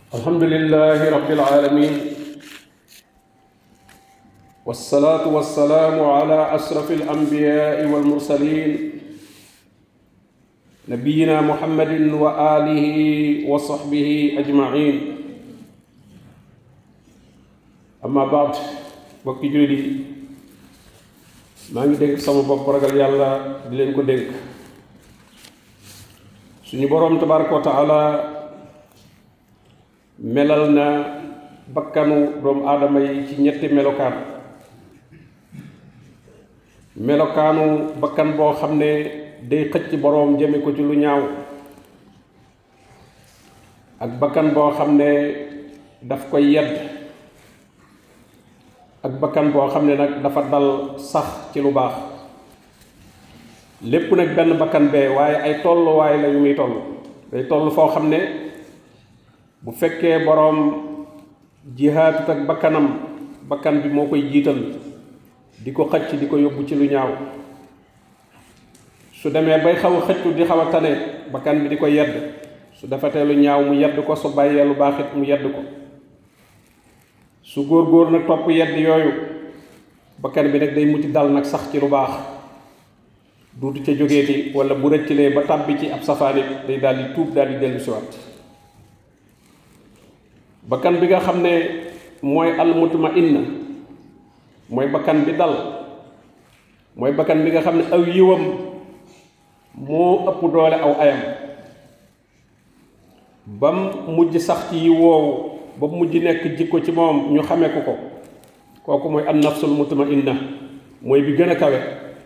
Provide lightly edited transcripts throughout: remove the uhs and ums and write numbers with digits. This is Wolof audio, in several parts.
الحمد لله رب العالمين والصلاة والسلام على أشرف الأنبياء والمرسلين نبينا محمد وآله وصحبه أجمعين أما بعد بكي جولي ما ngi denk sama bop ragal yalla di len ko denk suñu borom tabaaraku wa ta'ala melal na bakkanu doom aadama yi ci ñetti melokaanu bakkan boo xam ne day xëcc boroom jëme ko ci lu ñaaw ak bakkan boo xam ne daf koy yedd ak bakkan boo xam ne nag dafa dal sax ci lu baax lépp nag benn bakkan bee waaye ay tolluwaay la yu muy toll day toll foo xam ne bu fekkee boroom jihaatut ak bakkan bi moo koy jiital di ko xëcc di ko yóbbu ci lu ñaaw su demee bay xaw a xëccu di xaw a tane bakkan bi di ko yedd su defatee lu ñaaw mu yedd ko su bàyyee lu baax it mu yedd ko su góor nag topp yedd yooyu bakkan bi nag day muti dal nag sax ci lu baax duutu ca jógeeti wala bu rëccilee ba tàbbi ci ab safaanit day daal di tuub daal di dellu siwaat bakkan bi nga xam ne mooy al mutmainna mooy bakkan bi dal mooy bakkan bi nga xam ne aw yiwam moo ëpp doole aw ayam bam mujj sax ci yi woowu ba mujj nekk jikko ci moom ñu xamee ko kooku mooy an nafsul mutmainna mooy bi gën a kawe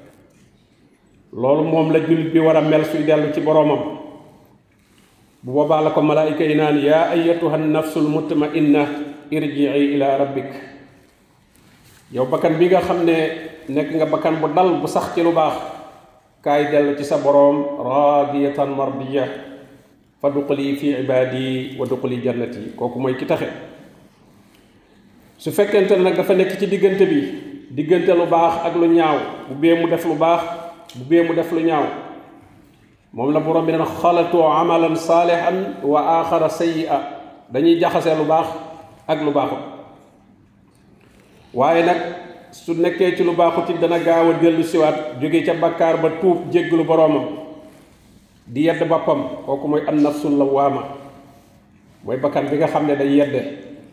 loolu moom la jullit bi war a mel suy dellu ci boroomam bu boobaa la ko malaayika yi naan yaa ayyatuha nafsul mutmainna irji'i ila rabbik yow bakkan bi nga xam ne nekk nga bakkan bu dal bu sax ci lu baax kaay dellu ci sa boroom radiyatan mardiya fa duxuli fi ibadi wa duxuli jannati kooku mooy ki taxe su fekkente nag dafa nekk ci diggante lu baax ak lu ñaaw bu bee mu def lu baax bu bee mu def lu ñaaw moom la borom bi dana xalatu amalan saalihan wa axara sayyi'a dañuy jaxase lu baax ak lu baaxut waaye nag su nekkee ci lu baaxut it dana gaaw a dellu siwaat jóge ca bakkaar ba tuub jégglu boroomam di yedd boppam kooku mooy an nafsul lawaama mooy bakkan bi nga xam ne day yedde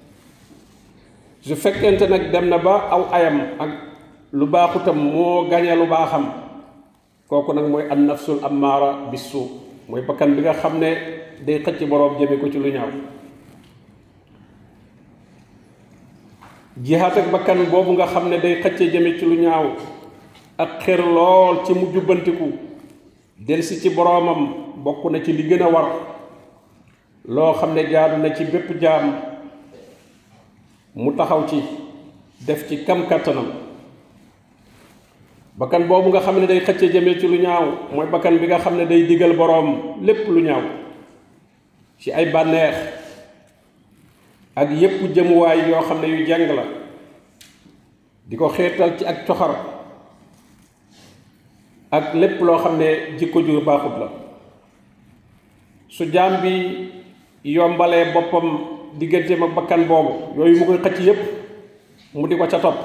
su fekkente nag dem na ba aw ayam ak lu baaxutam moo gañe lu baaxam kooku nag mooy an nafsul ammaara bisu mooy bakkan bi nga xam ne day xëcc boroom jëme ko ci lu ñaaw jihaat ak bakkan boobu nga xam ne day xëcce jëme ci lu ñaaw ak xër lool ci mu jubbantiku delsi ci boroomam bokk na ci li gën a war loo xam ne jaadu na ci bépp jaam mu taxaw ci def ci kam kàttanam bakkan boobu nga xam ne day xëcce jëme ci lu ñaaw mooy bakkan bi nga xam ne day digal boroom lépp lu ñaaw ci ay bànneex ak yépp jëmuwaay yoo xam ne yu jàng la di ko xeetal ci ak coxar ak lépp loo xam ne jikko ju baaxut la su jaam bi yombalee boppam digganteem ak bakkan boobu yooyu mu koy xëcc yépp mu di ko ca topp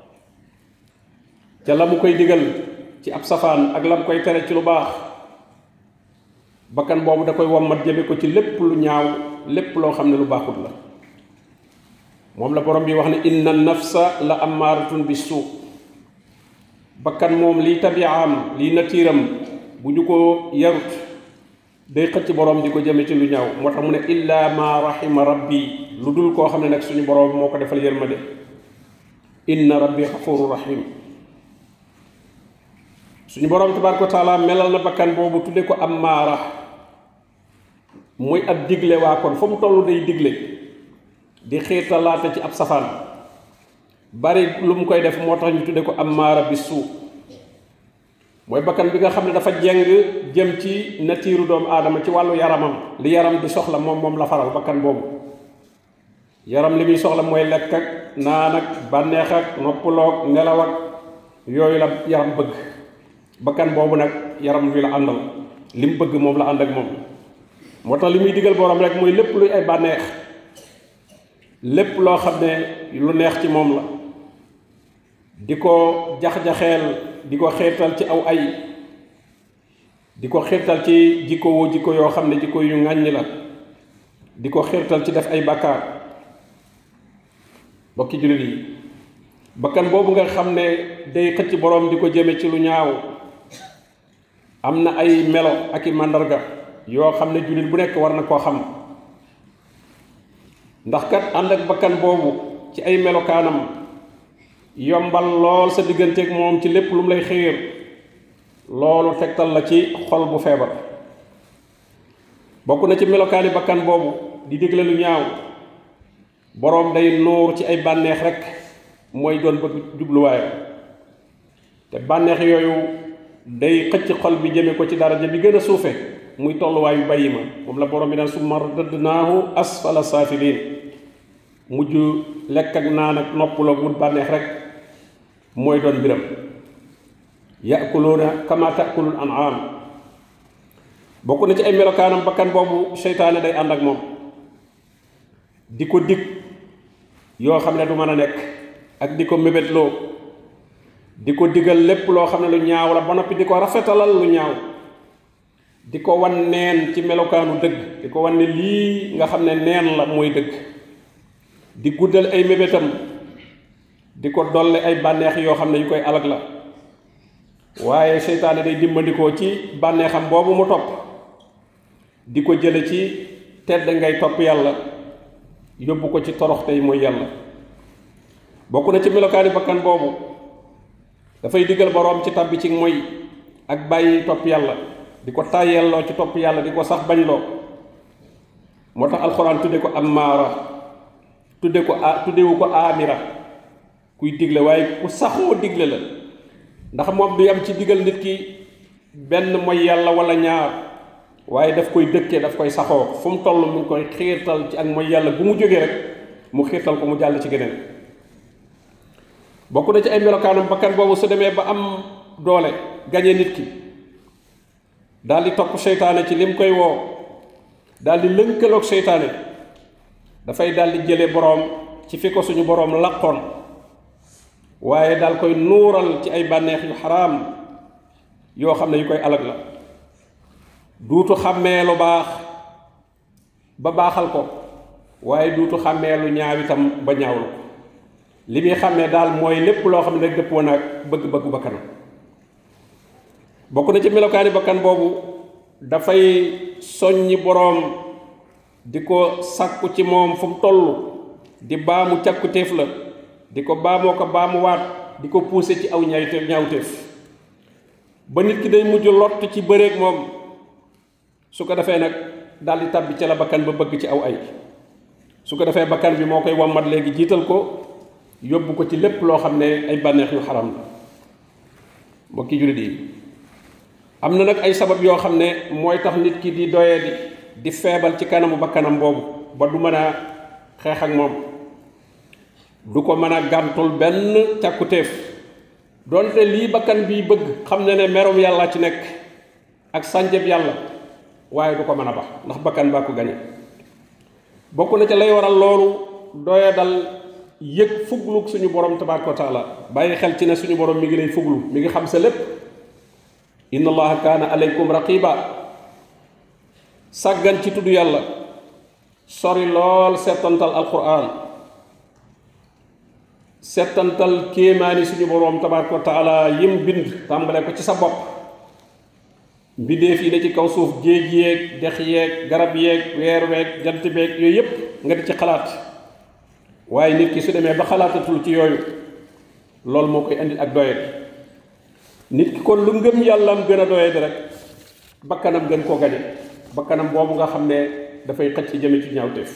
ca la mu koy digal ci ab safaan ak la mu koy tere ci lu baax bakkan boobu da koy wommat jëme ko ci lépp lu ñaaw lépp loo xam ne lu baaxut la moom la borom bi wax ne inna nafsa la ammaaratun bisu bakkan moom liy tabiaam liy natiiram bu ñu ko yarut day xëcc borom di ko jëme ci lu ñaaw moo tax mu ne illa ma rahima rabbi lu dul koo xam ne nag suñu borom moo ko defal yërmande inna rabbi xafuru rahim suñu borom tabaraka wa taala melal na bakkan boobu tudde ko ammaara muy ab digle waa kon fa mu toll day digle di xiirtalaate ci ab safaan bari lu mu koy def moo tax ñu tudde ko ammaara bisu mooy bakkan bi nga xam ne dafa jeng jëm ci natiiru doomu aadama ci wàllu yaramam li yaram di soxla moom la faral bakkan boobu yaram li muy soxla mooy lekk ak naan ak bànneex ak noppaloog nelaw ak yooyu la yaram bëgg bakkan boobu nag yaram wi la àndal li mu bëgg moom la ànd ak moom moo tax li muy digal borom rek mooy lépp luy ay bànneex lépp loo xam ne lu neex ci moom la di ko jax-jaxeel di ko xeetal ci aw ay di ko xeetal ci jikko yoo xam ne jikko yu ŋàññ la di ko xeetal ci def ay bàkkaar. bokki jullit yi bakkan boobu nga xam ne day xëcc boroom di ko jëme ci lu ñaaw am na ay melo ak i màndarga yoo xam ne jullit bu nekk war na koo xam, ndax kat ànd ak bakkan boobu ci ay melokaanam yombal lool sa digganteeg moom ci lépp lu mu lay xiir, loolu tegtal la ci xol bu feebar. bokk na ci melokaani bakkan boobu di digle lu ñaaw, boroom day nuur ci ay bànneex rek mooy doon bëgg jubluwaayam, te bànneex yooyu day xëcc xol bi jëme ko ci daraja bi gën a suufe muy tolluwaayu bàyyi ma. moom la boroom bi naan summa radadnaahu asfala saafiliin, mujj lekk ak naan ak noppaloo wut bànneex rek mooy doon mbiram. yaakuluuna kama taakulul an'am. bokk na ci ay melokaanam bakkan boobu seytaane day ànd ak moom di ko dig yoo xam ne du mën a nekk, ak di ko mébétloo, di ko digal lépp loo xam ne lu ñaaw la ba noppi di ko rafetalal lu ñaaw, di ko wan neen ci melokaanu dëgg, di ko wan ne lii nga xam ne neen la mooy dëgg, di guddal ay mébétam, di ko dolle ay bànneex yoo xam ne yu koy alag la. waaye seytaane day dimbandikoo ci bànneexam boobu mu topp di ko jële ci tedd ngay topp yàlla yóbbu ko ci torox tey mooy yàlla. bokk na ci melokaani bakkan boobu dafay digal boroom ci tàbbi ci moy ak bàyyi topp yàlla, di ko tàyyelloo ci topp yàlla, di ko sax bañloo. moo tax alxuraan tudde ko ammaara, tuddewu ko amira, kuy digle waaye ku saxoo digle la. ndax moom du yam ci digal nit ki benn mooy yàlla wala ñaar, waaye daf koy dëkkee, daf koy saxoo fu mu toll mu ngi koy xiirtal ci ak mooy yàlla bu mu jógee rek mu xiirtal ko mu jàll ci geneen. bokk na ci ay melokaanam bakkan boobu su demee ba am doole gañe nit ki daal di topp seytaane ci lim koy woo, daal di lënkaloog seytaane, dafay daal di jële boroom ci fi ko suñu boroom laqoon, waaye daal koy nuural ci ay bànneex yu xaraam yoo xam ne yu koy alag la. duutu xàmmee lu baax ba baaxal ko, waaye duutu xàmmee lu ñaaw itam ba ñaawlu ko. li muy xàmmee daal mooy lépp loo xam ne rek dëppoo naag bëgg-bëggu bakkanam. bokk na ci melokaani bakkan boobu dafay soññi boroom di ko sàkku ci moom fu mu toll, di baamu càkkutéef la, di ko baamoo ko baamuwaat, di ko pousser ci aw ñaawteef ba nit ki day mujj lott ci bëreeg moom. su ko defee nag daal di tàbbi ca la bakkan ba bëgg ci aw ay. su ko defee bakkan bi moo koy wammat léegi jiital ko yóbbu ko ci lépp loo xam ne ay bànneex yu xaram la. mbokki jullit yi am na nag ay sabab yoo xam ne mooy tax nit ki di doyee di feebal ci kanamu bakkanam boobu ba du mën a xeex ak moom, du ko mën a gàntul benn càkkutéef, doonte lii bakkan bi bëgg xam ne ne merum yàlla ci nekk ak sànjeb yàlla, waaye du ko mën a bax ndax bakkan baa ko gañe. bokk na ca lay waral loolu doya dal yëg fuglu suñu borom tabaaraka wa taala, bàyyi xel ci ne suñu borom mi ngi lay fuglu, mi ngi xam sa lépp. inna allaha kaana alaykum raqiba. sàggan ci tudd yàlla, sori lool settantal alquran, settantal kéemaani suñu borom tabaaraka wa taala yim bind tàmbale ko ci sa bopp, mbindeef yi ne ci kaw suuf, géej yeeg dex yeeg garab yeeg weer weeg jant beeg yooyu yépp nga di ci xalaat. waaye nit ki su demee ba xalaatatul ci yooyu, loolu moo koy indi ak doyet. nit ki kon lu ngëm yàllaam gën a doyet rek bakkanam gën koo gañe, bakkanam boobu nga xam ne dafay xëcc jëme ci ñaawteef.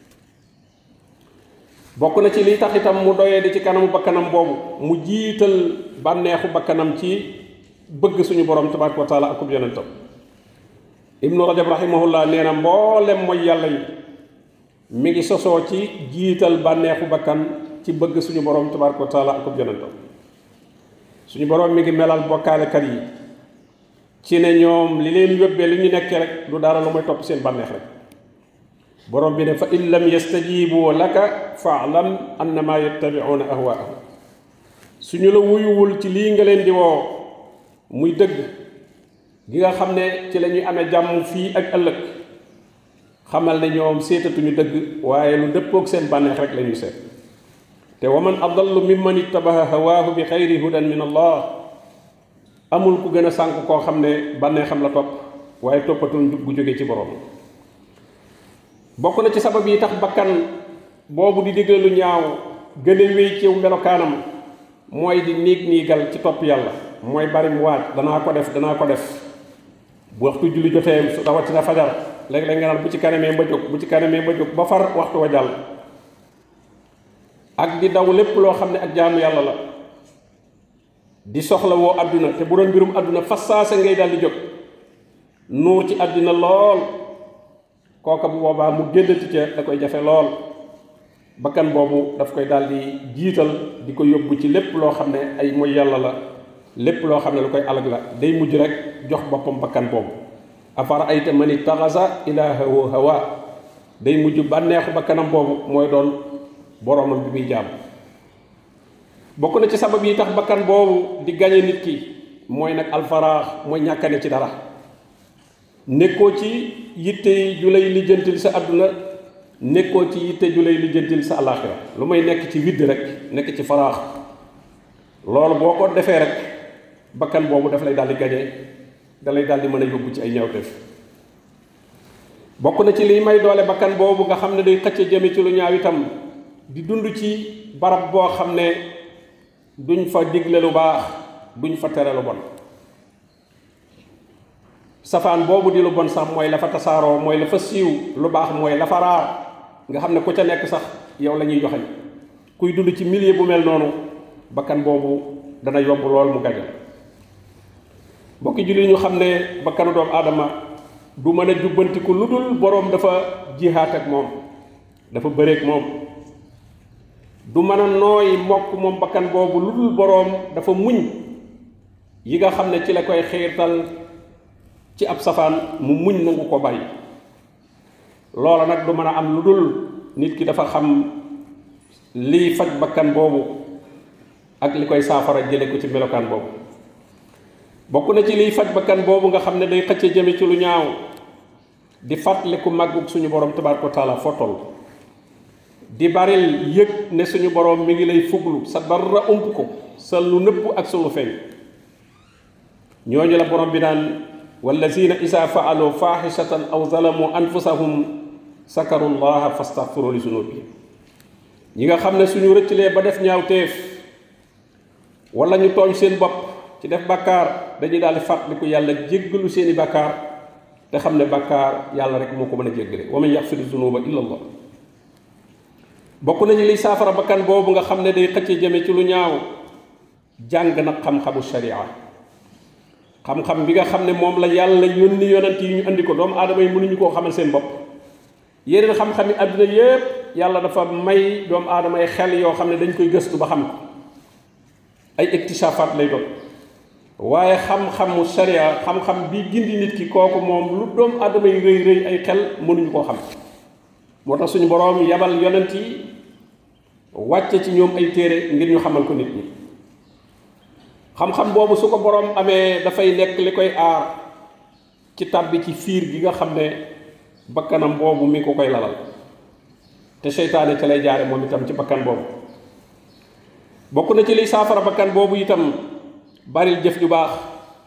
bokk na ci liy tax itam mu doyee di ci kanamu bakkanam boobu, mu jiital bànneexu bakkanam ci bëgg suñu borom tabaaraka wa taala akub yonentam. ibnu rajab rahimahullah nee na mboolem mooy yàlla yi mi ngi sosoo ci jiital bànneexu bakkan ci bëgg suñu borom tabaaraka wa taala akub yonentam. suñu borom mi ngi melal bokkaalekat yi ci ne ñoom li leen yóbbee li ñu nekkee rek du dara lu mooy topp seen bànneex rek. borom bi ne fa in lam yastajibu laka fa'lam annama yattabi'una ahwaa'ahum suñu la wuyuwul ci lii nga leen di woo muy dëgg gi nga xam ne ci la ñuy amee jàmm fii ak ëllëg xamal ne ñoom seetatuñu dëgg waaye lu dëppoog seen bànneex rek la ñuy seet te wa man adallu mimman ittabaha hawaahu bi xayri hudan min allah amul ku gën a sànk koo xam ne bànneexam la topp waaye toppatul njub gu jóge ci borom bokk na ci sabab yi tax bakkan boobu di digle lu ñaaw gën a wéy ci melokaanam mooy di niigal ci topp yàlla mooy bari mu waat danaa ko def bu waxtu julli jotee su rawatina fajar léeg-léeg nga naan bu ci kanamee ma jóg ba far waxtu wa jàll ak di daw lépp loo xam ne ak jaamu yàlla la di soxla woo àdduna te bu doon mbirum àdduna fas saasa ngay daal di jóg nuur ci àdduna lool kooka bu boobaa mu génnati ca da koy jafe lool bakkan boobu daf koy daal di jiital di ko yóbbu ci lépp loo xam ne ay mooy yàlla la lépp loo xam ne lu koy alag la day mujj rek jox boppam bakkan boobu afara ayta man ittaxasa ilaahahu hawa day mujj bànneexu bakkanam boobu mooy doon boromam bi muy jaam bokk na ci sabab yi tax bakkan boobu di gañe nit ki mooy nag alfaraax mooy ñàkkane ci dara nekkoo ci yitte ju lay lijjantil sa àdduna nekkoo ci yitte ju lay lijjantil sa alaxira lu may nekk ci widd rek nekk ci faraax loolu boo ko defee rek bakkan boobu daf lay daal di gañe da lay daal di mën a yóbbu ci ay ñaawteef bokk na ci liy may doole bakkan boobu nga xam ne day xëcc jëme ci lu ñaaw itam di dund ci barab boo xam ne duñ fa digle lu baax duñ fa tere lu bon safaan boobu di lu bon sax mooy la fa tasaaroo mooy la fa siiw lu baax mooy la fa raar nga xam ne ku ca nekk sax yow la ñuy joxeñ kuy dund ci milieu bu mel noonu bakkan boobu dana yomb lool mu gàjjal mbokki julli ñu xam ne bakkanu doomu aadama du mën a jubbantiku lu dul boroom dafa jihaat ak moom dafa bëreek moom du mën a nooy mokk moom bakkan boobu lu dul boroom dafa muñ yi nga xam ne ci la koy xiirtal ci ab safaan mu muñ nangu ko bàyyi loola nag du mën a am lu dul nit ki dafa xam liy faj bakkan boobu ak li koy saafara jële ko ci melokaan boobu bokk na ci liy faj bakkan boobu nga xam ne day xëcce jëme ci lu ñaaw di fàttaliku màggug suñu borom tabaaraka wa taala foo toll di baril yëg ne suñu borom mi ngi lay fuglu sa dara ump ko sa lu nëbb ak sa lu feeñ ñooñu la borom bi naan wallazina isa faalu faaxishatan aw zalamu anfusahum sakaru llaha fastaxfiru li zunubihim ñi nga xam ne suñu rëccalee ba def ñaawteef wala ñu tooñ seen bopp ci def bàkkaar dañuy daal di fàttaliku yàlla jéggalu seeni bàkkaar te xam ne bàkkaar yàlla rek moo ko mën a jéggale wa man yaxfiru zunuba illa allah bokk nañu liy saafara bakkan boobu nga xam ne day xëcce jëme ci lu ñaaw jàng nag xam-xamu sharia xam-xam bi nga xam ne moom la yàlla yónni yonent yi ñu andi ko doomu aadama yi mënuñu koo xamal seen bopp yeneen xam-xam yi àdduna yépp yàlla dafa may doomu aadama yi xel yoo xam ne dañ koy gëstu ba xam ko ay iktisaafaat lay doon waaye xam-xamu sharia xam-xam bi gindi nit ki kooku moom lu doomu aadama yi rëy rëy ay xel mënuñu koo xam moo tax suñu boroom yabal yonent yi wàcce ci ñoom ay téere ngir ñu xamal ko nit ñi xam-xam boobu su ko boroom amee dafay nekk li koy aar ci tàbbi ci fiir gi nga xam ne bakkanam boobu mi ko koy lalal te seytaane ca lay jaare moom itam ci bakkan boobu bokk na ci liy saafara bakkan boobu itam baril jëf ju baax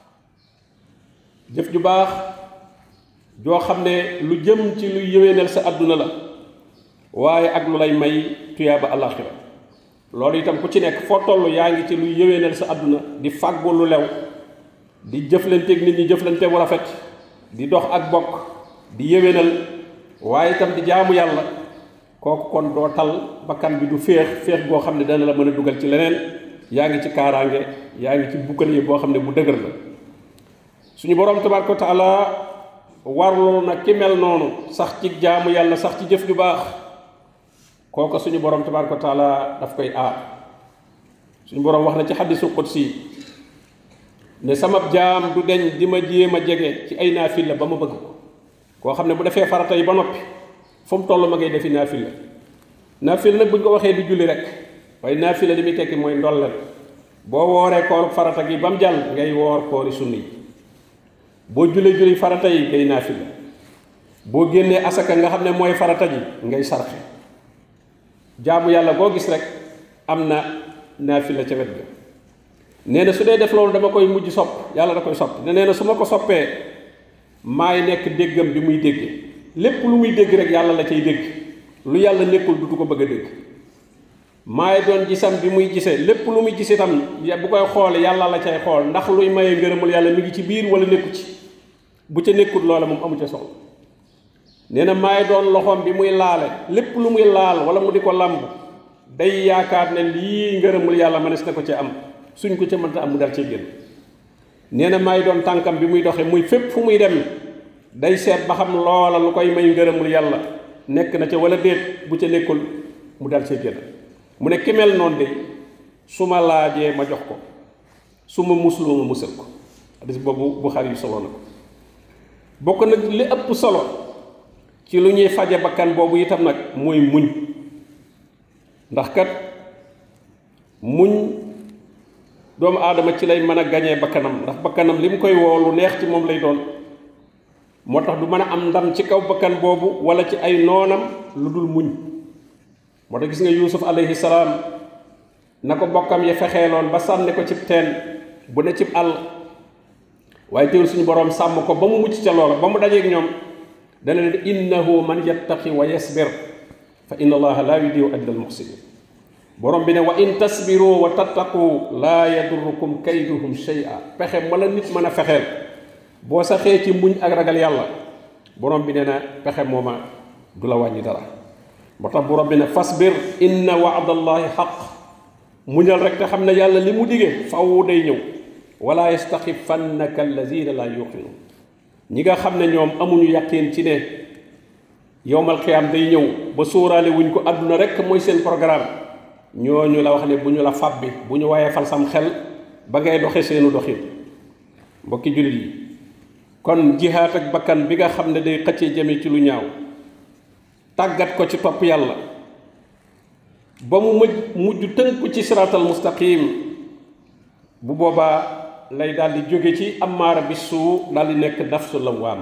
joo xam ne lu jëm ci luy yëwénal sa àdduna la waaye ak lu lay may tuyaaba alaxira loolu itam ku ci nekk foo toll yaa ngi ci luy yëwénal sa àdduna di fàggu lu lew di jëflanteeg nit ñi jëflante bu rafet di dox ak bokk di yëwénal waaye itam di jaamu yàlla kooku kon doo tal bakkan bi du féex goo xam ne dana la mën a dugal ci leneen yaa ngi ci kaaraange yaa ngi ci bukkale boo xam ne bu dëgër la suñu boroom tabaaraka wa taala warlu na ki mel noonu sax ci jaamu yàlla sax ci jëf ju baax kooku suñu boroom tabaaraka wa taala daf koy aar suñu boroom wax na ci xaddisul qudsi ne sama jaam du deñ di ma jéem a jege ci ay naafila ba ma bëgg ko koo xam ne bu defee farata yi ba noppi fu mu toll ma ngay defi naafila naafila nag buñ ko waxee du julli rek waaye naafila li muy tekki mooy ndollal boo wooree koor farata gi ba mu jàll ngay woor koori sunni boo julli farata yi ngay naafila boo génnee asaka nga xam ne mooy farata ji ngay sarxe jaamu yàlla boo gis rek am na naafila ca wet ga nee na su dee def loolu dama koy mujj sopp yàlla da koy sopp nee na su ma ko soppee maay nekk déggam bi muy dégge lépp lu muy dégg rek yàlla la cay dégg lu yàlla nekkul du ko bëgg a dégg maay doon gisam bi muy gisee lépp lu muy gis itam bu koy xoole yàlla la cay xool ndax luy maye ngërëmul yàlla mi ngi ci biir wala nekku ci bu ca nekkut loola moom amu ca solo nee na maay doon loxoom bi muy laale lépp lu muy laal wala mu di ko lamb day yaakaar ne lii ngërëmul yàlla mënees na ko ci am suñ ko ca mënta am mu dal cee génn nee na maay doon tànkam bi muy doxe muy fépp fu muy dem day seet ba xam loola lu koy may ngërëmul yàlla nekk na ca wala déet bu ca nekkul mu dal cee génn mu ne ki mel noonu de su ma laajee ma jox ko su ma musloo ma musal ko hadis boobu Buxaari yu solo na ko bokk nag li ëpp solo ci lu ñuy faje bakkan boobu itam nag mooy muñ ndax kat muñ doomu aadama ci lay mën a gañee bakkanam ndax bakkanam li mu koy woo lu neex ci moom lay doon moo tax du mën a am ndam ci kaw bakkan boobu wala ci ay noonam lu dul muñ moo tax gis nga Yuusuf alayhi salaam na ko bokkam ya fexeeloon ba sànni ko cib teen bu ne cib àll waaye teewul suñu boroom sàmm ko ba mu mucc ca loola ba mu dajeeg ñoom dana leen innahu man yattaqi wa yasbir fa inna allaha laa yudii'u ajra al muhsinin borom bi ne wa in tasbiru wa tattaqu laa yadurrukum kayduhum shay'a pexe ma la nit mën a fexeel boo saxee ci muñ ak ragal yàlla borom bi nee na pexe mooma du la wàññi dara moo tax borom bi ne fasbir inna wa'dallahi xaq muñal rek te xam ne yàlla li mu digee faw day ñëw wala yastaxifannaka allazina laa yuqinun ñi nga xam ne ñoom amuñu yaqin ci ne yowmal xiyaam day ñëw ba sóoraale wuñ ko àdduna rek mooy seen programme ñooñu la wax ne bu ñu la fàbbi bu ñu waaye fal sam xel ba ngay doxe seenu doxin mbokki jullit yi kon jihaat ak bakkan bi nga xam ne day xëccee jëme ci lu ñaaw tàggat ko ci topp yàlla ba mu mujj tënku ci siraatal mustaqim bu boobaa lay daal di jóge ci amaara bi suu daal di nekk nafsu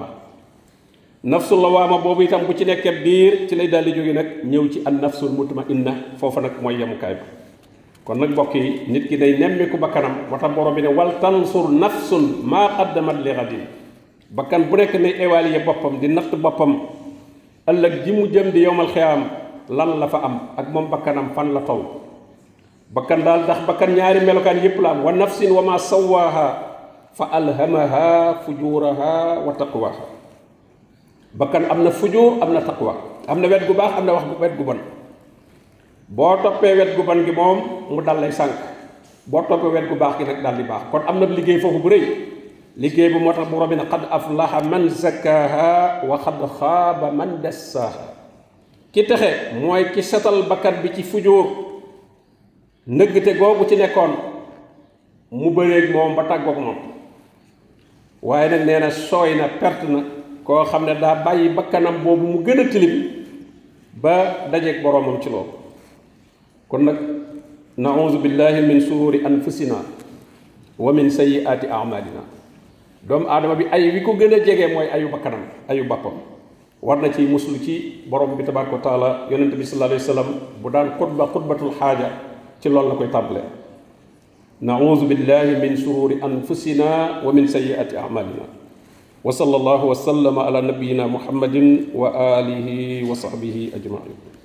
lawaama boobu itam bu ci nekkee biir ci lay daal di jóge nag ñëw ci an nafsul mutmainna foofa nag mooy yemukaay ba kon nag mbokk yi nit ki day nemmiku bakkanam moo tax borom bi ne wal tansur nafsun maa qaddamat li ghadin bakkan bu nekk ne évaluer boppam di natt boppam ëllëg ji mu jëm di yowmal xiyaam lan la fa am ak moom bakkanam fan la toll bakkan daal ndax bakkan ñaari melokaan yépp la am wa nafsin wa ma sawaaha fa alhamaha fujuraha wa taqwaha bakkan am na fujur am na taqwa am na wet gu baax am na wax wet gu bon boo toppee wet gu bon gi moom mu dal lay sànq boo toppee wet gu baax gi nag dal di baax kon am na liggéey foofu bu rëy liggéey bi moo tax bu robbi ne qad aflaha man zakkaha wa qad xaaba man dassaha ki texe mooy ki setal bakkan bi ci fujur nëggte googu ci nekkoon mu bëreeg moom ba tàggoog moom waaye nag nee na sooy na perte na koo xam ne daa bàyyi bakkanam boobu mu gën a tilim ba dajeeg boroomam ci loolu kon nag nauzu billahi min sururi anfusina wa min sayyiati a'malina doomu aadama bi ay wi ko gën a jege mooy ayu bakkanam ayu bappam war na ci muslu ci borom bi tabaraka wa taala yonent bi sallallahu alayhi wa sallam bu daan xutbatul xaaja ci loolu la koy tàmbalee nauzu billahi min sururi anfusina wa min sayyiati a'malina wa sallallahu wa sallama ala nabiyyina muhammadin wa alihi wa sahbihi ajmain